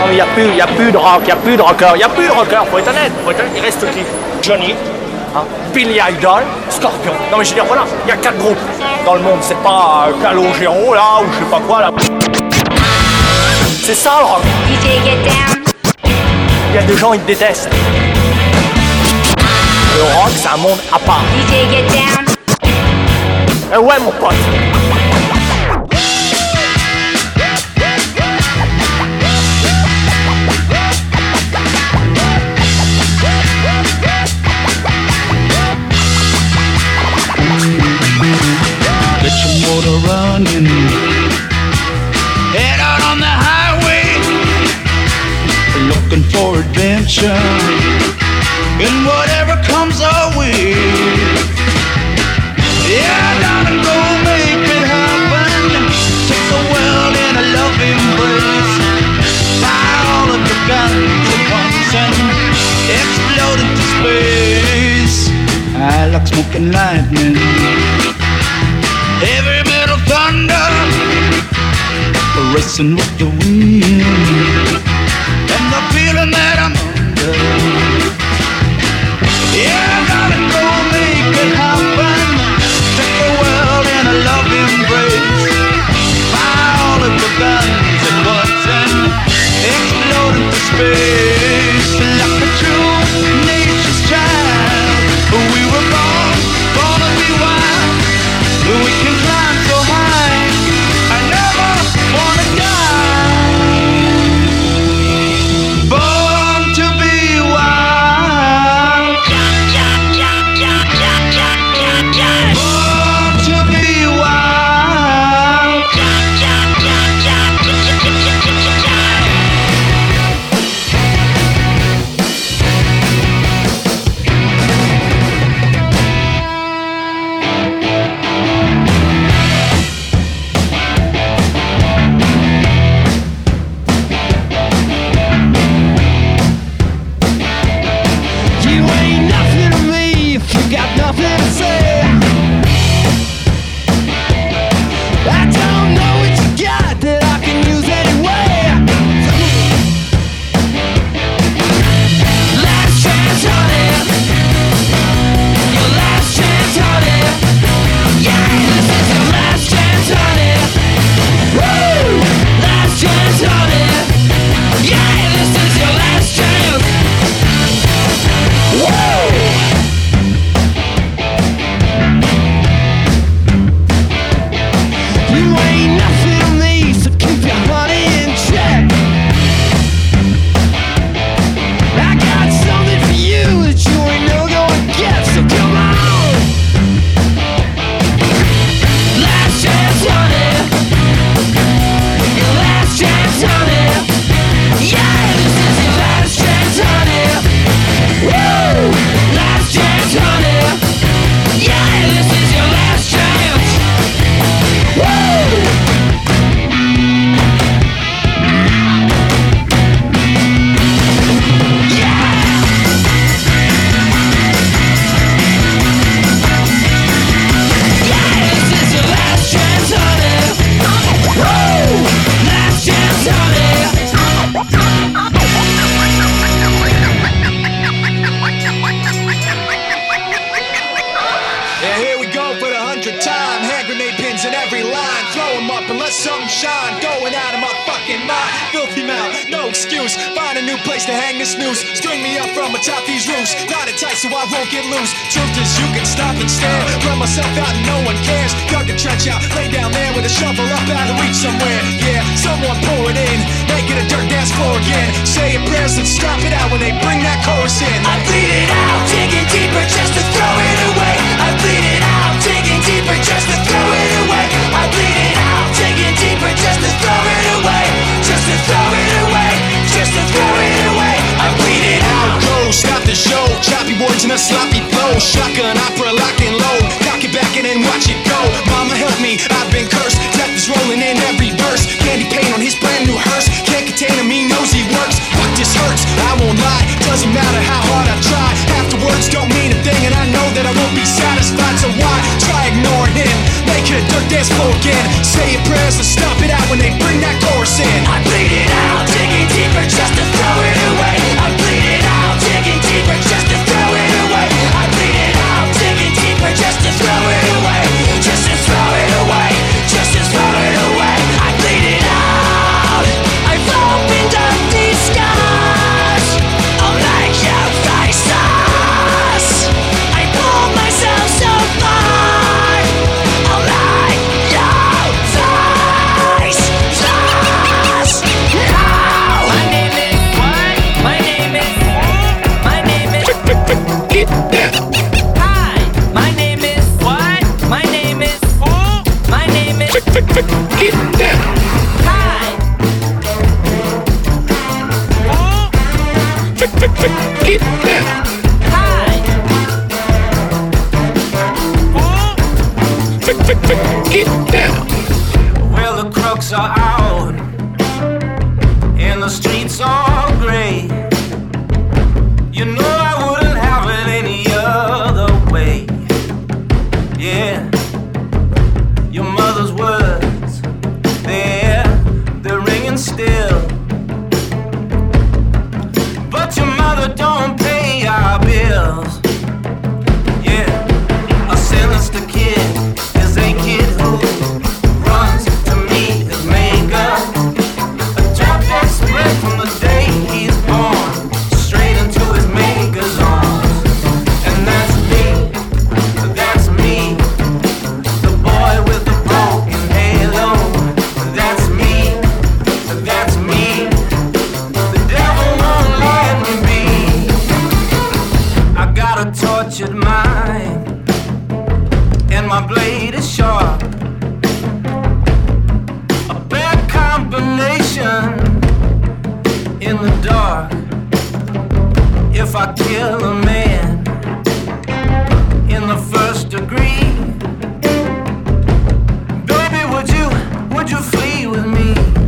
Non mais y a plus de rock, y a plus de rocker, faut être honnête, il reste qui? Johnny, hein? Billy Idol, Scorpion. Non mais je veux dire voilà, y a 4 groupes dans le monde, c'est pas Calogero là ou je sais pas quoi là. C'est ça le rock. DJ get down. Y a des gens ils te détestent. Le rock c'est un monde à part. DJ get down. Eh ouais mon pote. Get your motor running, head out on the highway, looking for adventure, and whatever comes our way. Yeah, darling, go make it happen. Take the world in a loving embrace. Fire all of your guns at once and explode into space. I like smoking lightning, heavy metal thunder, racing with the wind, and the feeling that I'm under. Yeah, gotta go make it happen. Take the world in a love embrace. Fire all of the guns at once and explode into space. Like a true nature's child, we were born to be wild. We can climb so high, I never wanna die. Born to be wild. Born to be wild. You ain't nothing to me if you got nothing to say. I don't know what you got that I can use anyway. Last chance, honey. Your last chance, honey. Yeah, this is your last chance, honey. Woo! Last chance, honey. Yeah, this is your last chance. Whoa! You ain't nothing to me, so keep your honey in check. I got something for you that you ain't no gonna get, so come on. Last chance, honey. Your last chance, honey. Yeah, this is your last chance, honey. Woo! Last chance, honey. Yeah, this is your last chance. Woo! Yeah, this is your last chance, honey. Woo! Last chance, honey. Yeah, here we go for the 100th time. Hand grenade pins in every line. Throw 'em up and let something shine. Going out of my fucking mind. Filthy mouth, no excuse. Find a new place to hang this noose. String me up from atop these roofs. Knot it tight so I won't get loose. Truth is you can stop and stare. Run myself out and no one cares. Dug a trench out, lay down there with a shovel up out of reach somewhere. Yeah, someone pour it in. Make it a dirt dance floor again. Say your prayers and stop it out when they bring that chorus in. I bleed it out, digging deeper just to throw it away. I bleed it out, digging deeper just to throw it away. I bleed it out, digging deeper just to throw it away. Just to throw it away, just to throw it away. I bleed it out. Go, stop the show. Choppy words and a sloppy flow. Shotgun opera, lock and load. Cock it back and then watch it go. Mama help me, I've been cursed. Death is rolling in every verse. Candy paint on his brand new hearse. Can't contain him, he knows he works. Fuck, this hurts, I won't lie. Doesn't matter how hard I try. Half the words don't mean a thing, and I know that I won't be satisfied. So why try ignoring him? Make it a dirt dance floor again. Say your prayers and stop it out when they bring that chorus in. I bleed it out, digging deeper. kill a man in the first degree. Baby, would you flee with me?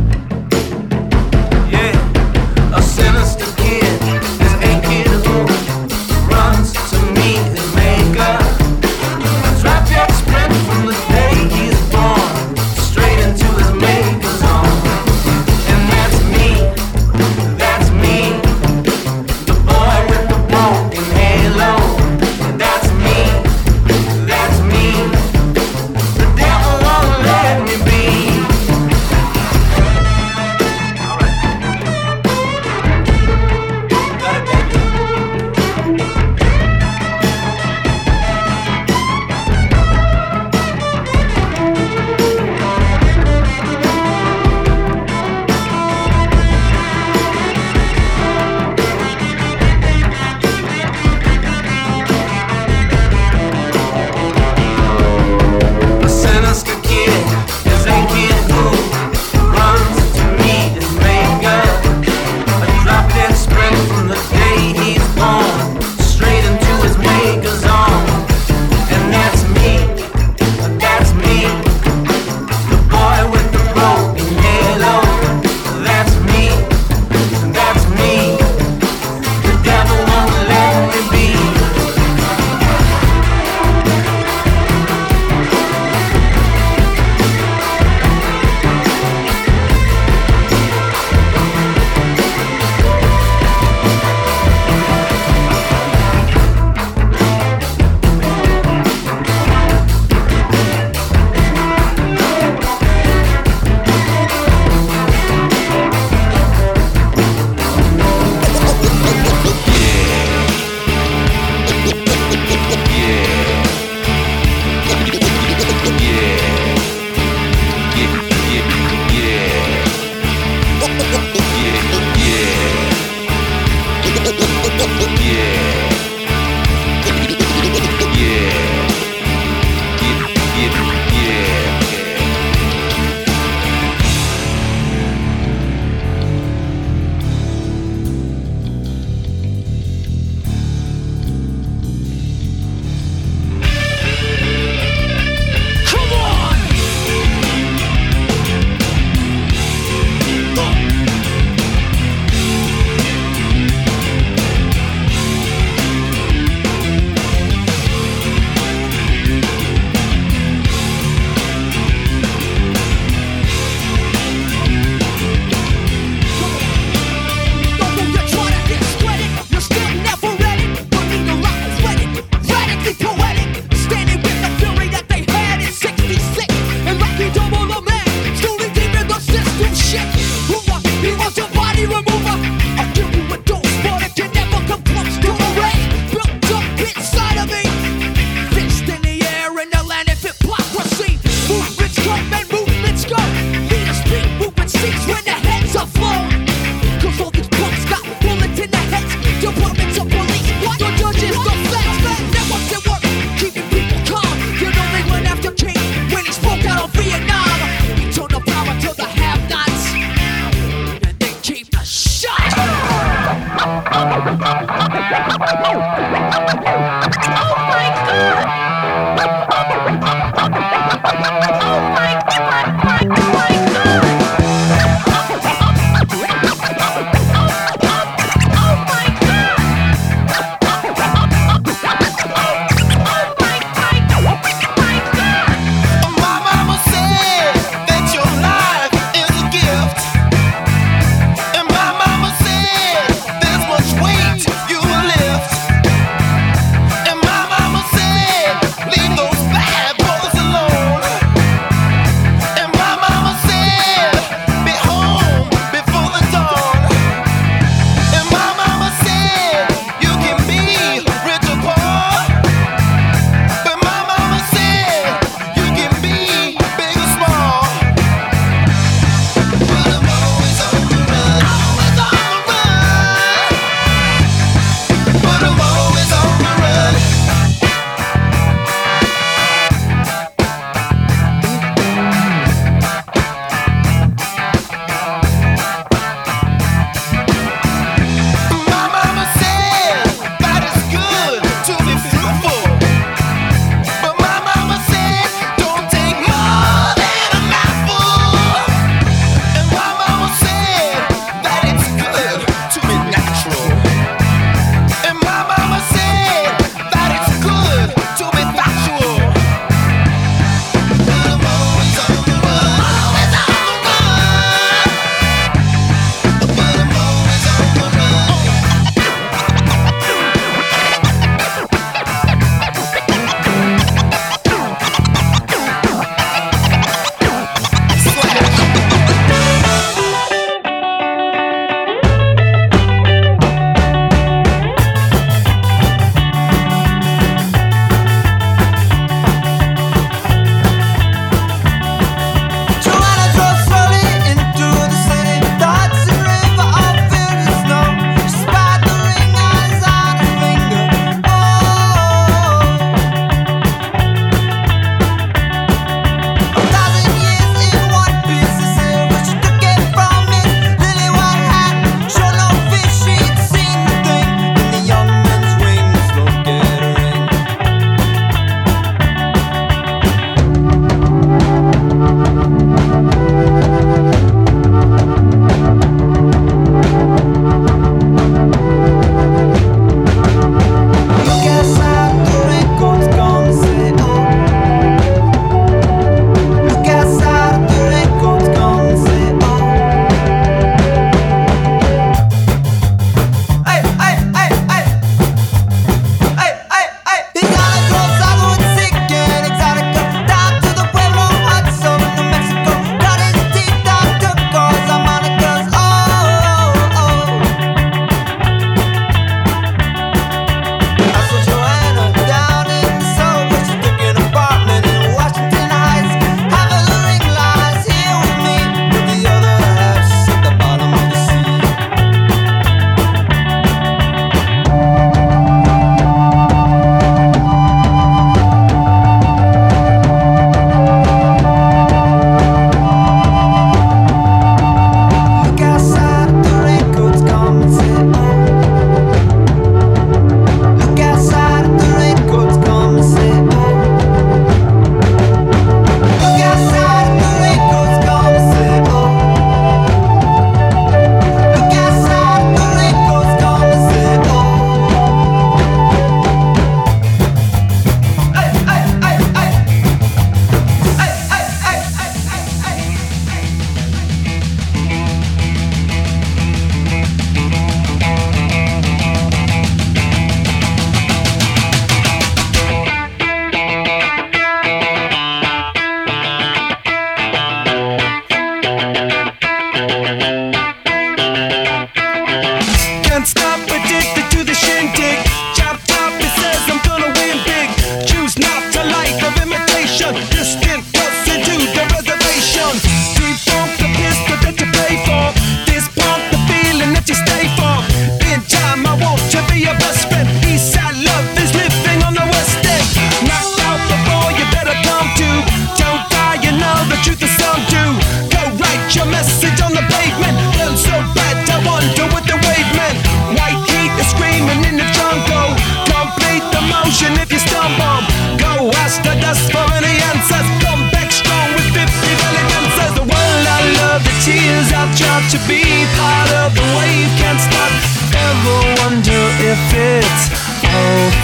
Yeah, a sinister kid is a kid who runs to meet his maker. A trap that sprint from the day he's born straight into his maker's arms. And that's me, the boy with the broken halo. That's me, the devil won't let me be. A sinister kid is a kid who runs to meet his maker. A drop-dead sprint from the day he's born straight into his maker's arms. And that's me, the boy with the broken halo. That's me, the devil won't let me be. You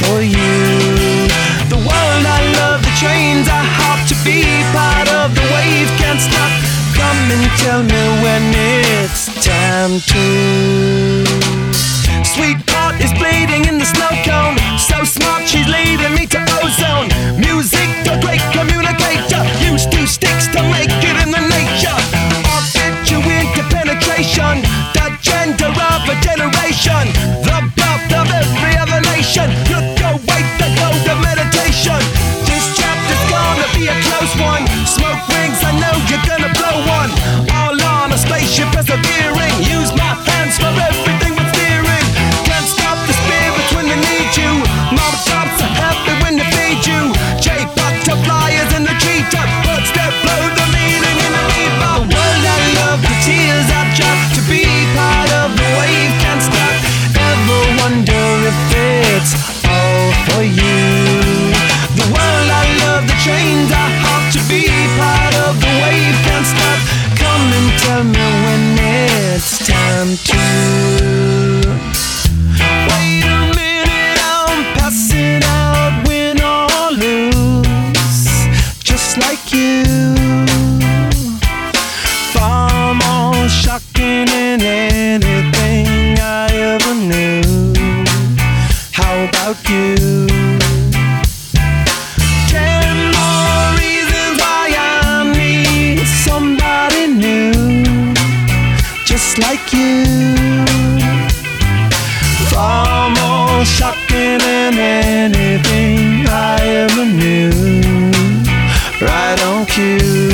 for you. The world I love, the trains I hop to be part of the wave can't stop. Come and tell me when it's time to. Sweetheart is bleeding in the snow cone. So smart, she's leading me to ozone. Music, the great communicator. Used two sticks to make it in the nature. I'll fit you into penetration. The gender of a generation. The birth of every other nation. Look away, the gold of meditation. This chapter's gonna be a close one. Smoke rings, I know you're gonna blow one. All on a spaceship persevering. Use my hands for everything but steering. Can't stop the spirit when they need you. Mom tops are happy when they feed you. J butterflies in the treetop. Birds that blow the meaning in the leaf. The world I love, the tears I drop to be part of the wave can't stop. Ever wonder if it's all for you? The world I love, the trains I hop to be part of the wave can't stop. Come and tell me when it's time to. Wait a minute, I'm passing out, win or lose, just like you. Far more shocking than anything I ever knew. How about you? 10 more reasons why I need somebody new, just like you. Far more shocking than anything I ever knew. Right on cue.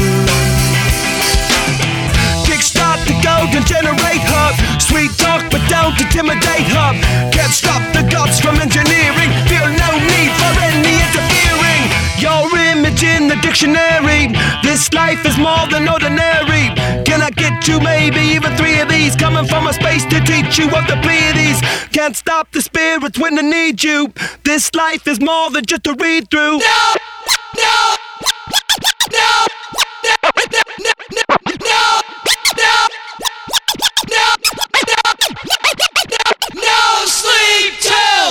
Kickstart the golden generate hub. Sweet talk but don't intimidate hub. Can't stop the gods from engineering. Feel no need for any interfering. Your image in the dictionary. This life is more than ordinary. Can I get you maybe even 3 of these? Coming from a space to teach you of the Pleiades. Can't stop the spirits when they need you. This life is more than just a read through. No! No! No! No! No! No! No! No sleep till.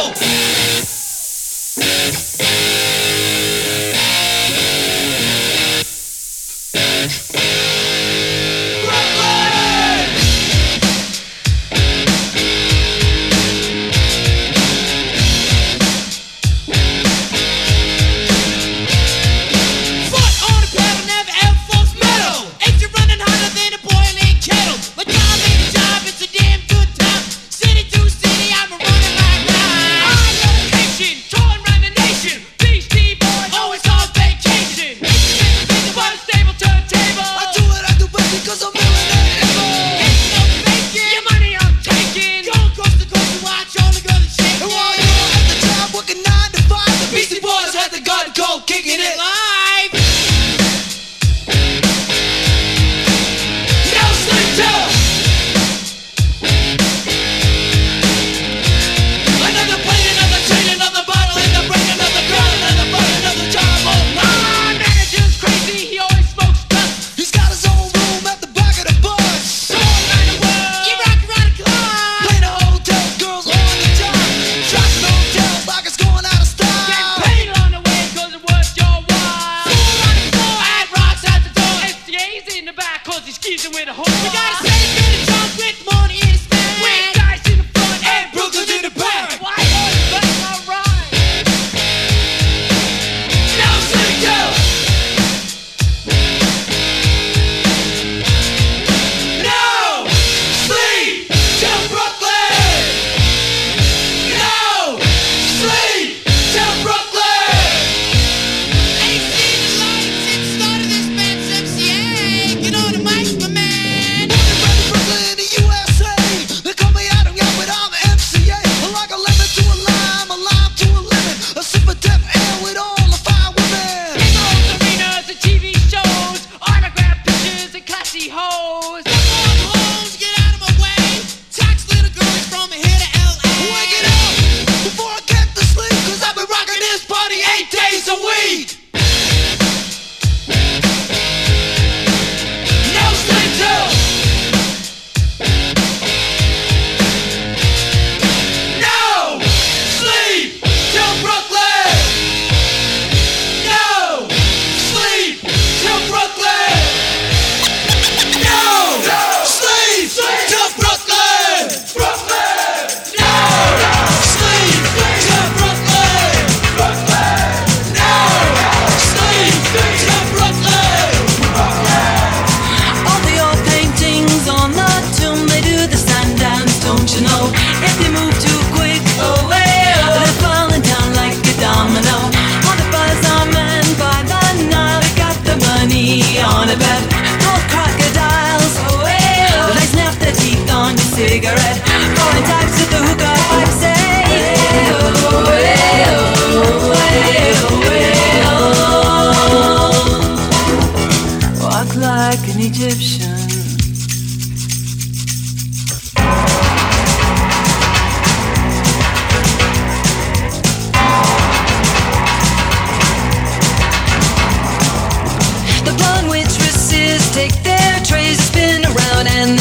Foot on the pedal, never ever false metal. Ain't you running?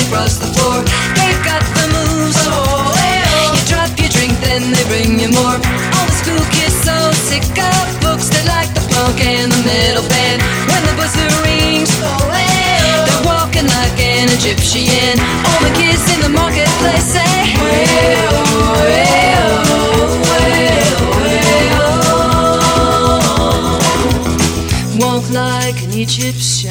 across the floor. They've got the moves. You drop your drink, then they bring you more. All the school kids so sick of books, they like the punk and the metal band. When the buzzer rings, they're walking like an Egyptian. All the kids in the marketplace say, way-oh, way-oh, way-oh, way-oh. Walk like an Egyptian.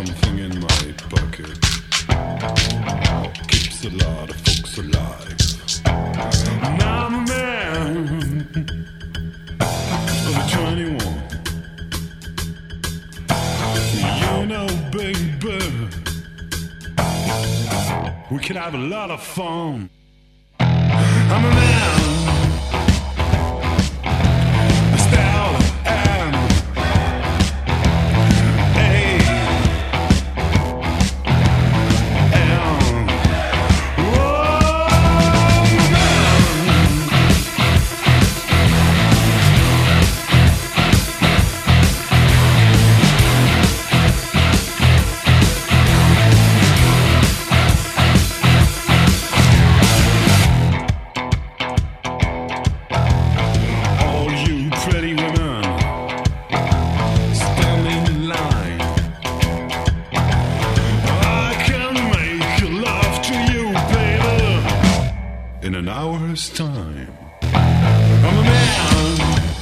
something in my pocket keeps a lot of folks alive. And I'm a man of 21. You know, baby, we can have a lot of fun. I'm a man. Time. I'm a man.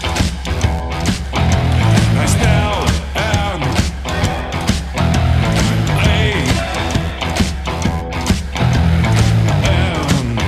I still am. I am.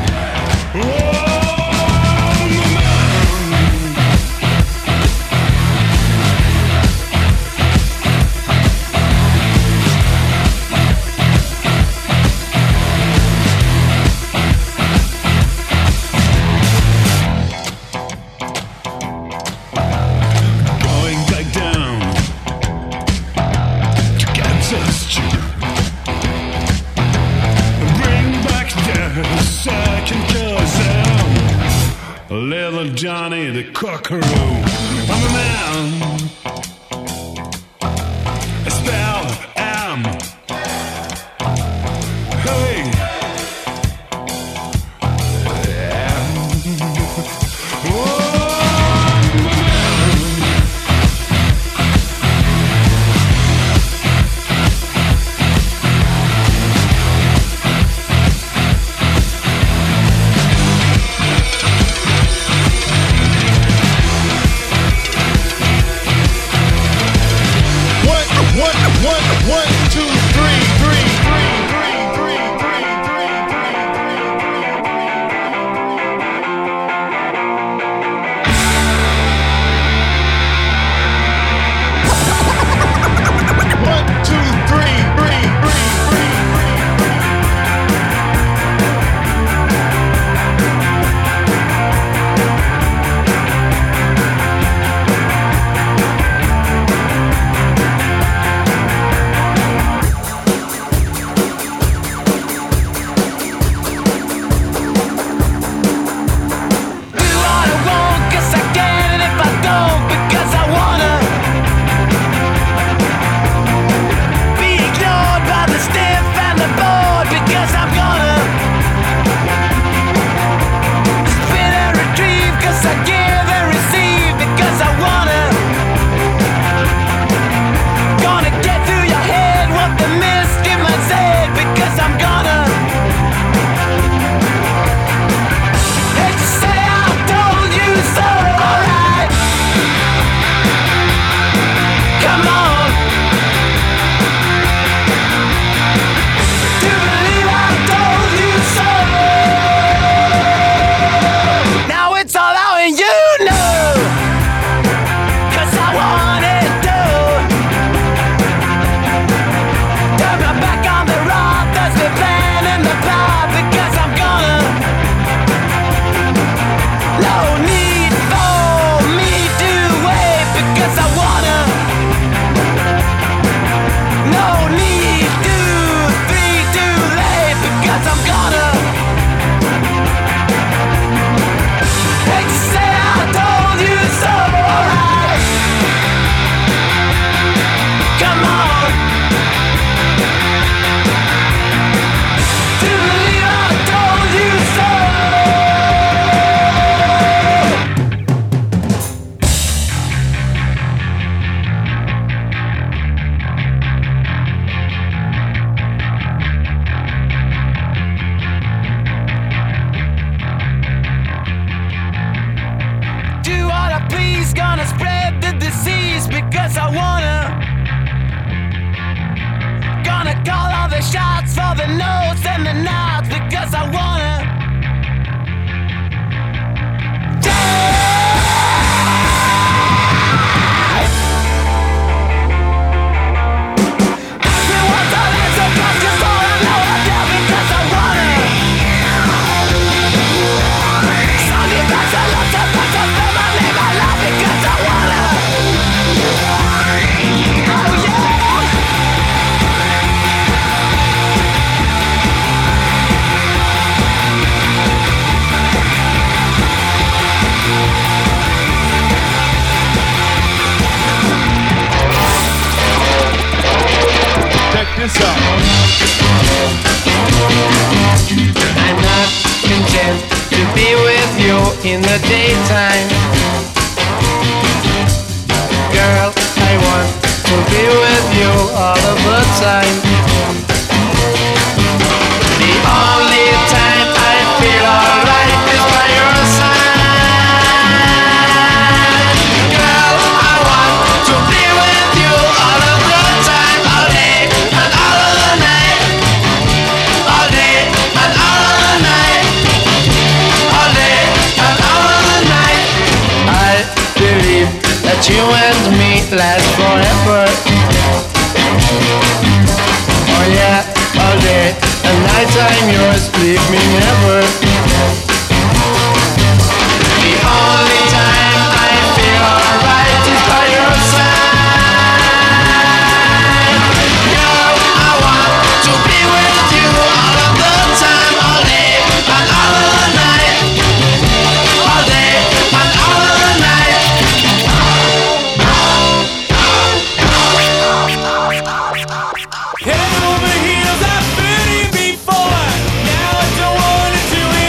Little Johnny the Cockaroo. I'm a man. I still am. Hey. One, two. the shots for the notes and the nods because I wanna. I'm not content to be with you in the daytime. Girl, I want to be with you all of the time. The only time I feel alright is by your side. Girl, I want to be with you all of the time, all day and all of the night. All day and all of the night. All day and all of the night. I believe that you and me last forever. Oh yeah, all day and night I'm yours, leave me never. The only time I feel alright is by your side. Girl, I want to be with you all of the time, all day and all of the night. All day and all of the night. Head over heels, I've been here before. Now I don't want it to end.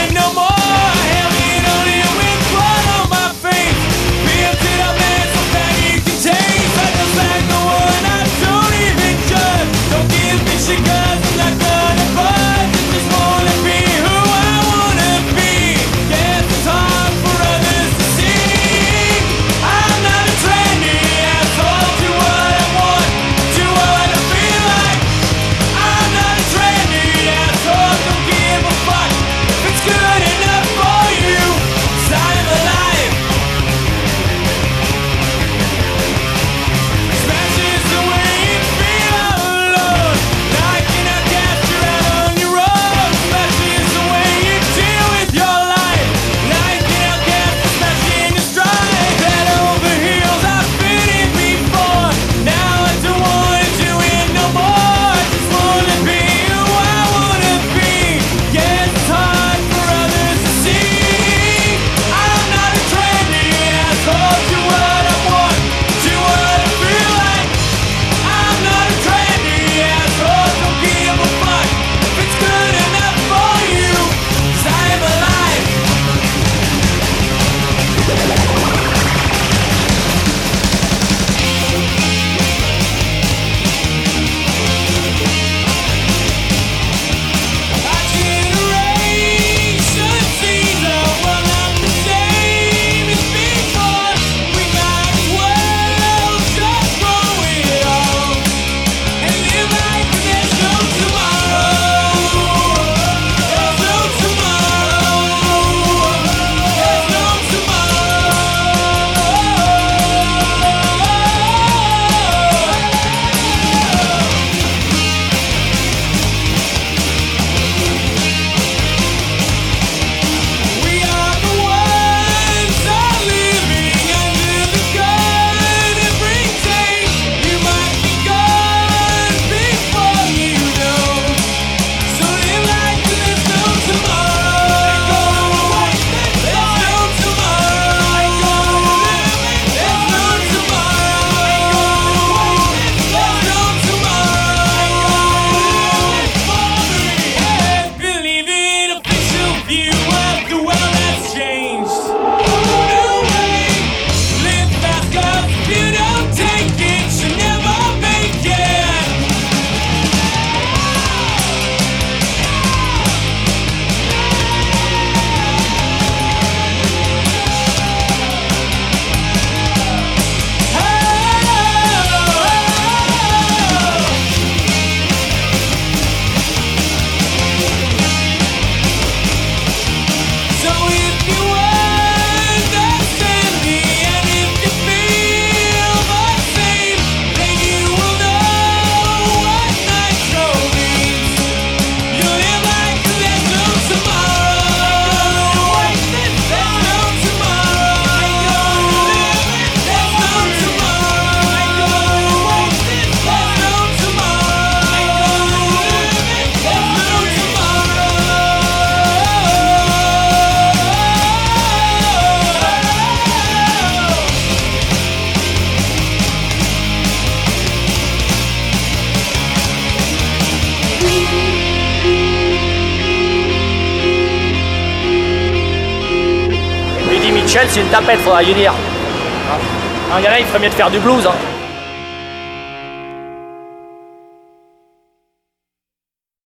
Michel, c'est une tapette, faudra lui dire. Il y en a, il ferait mieux de faire du blues. Hein.